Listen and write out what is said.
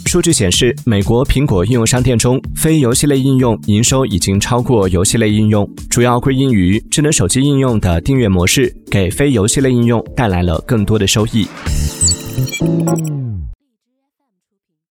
数据显示，美国苹果应用商店中非游戏类应用营收已经超过游戏类应用，主要归因于智能手机应用的订阅模式给非游戏类应用带来了更多的收益。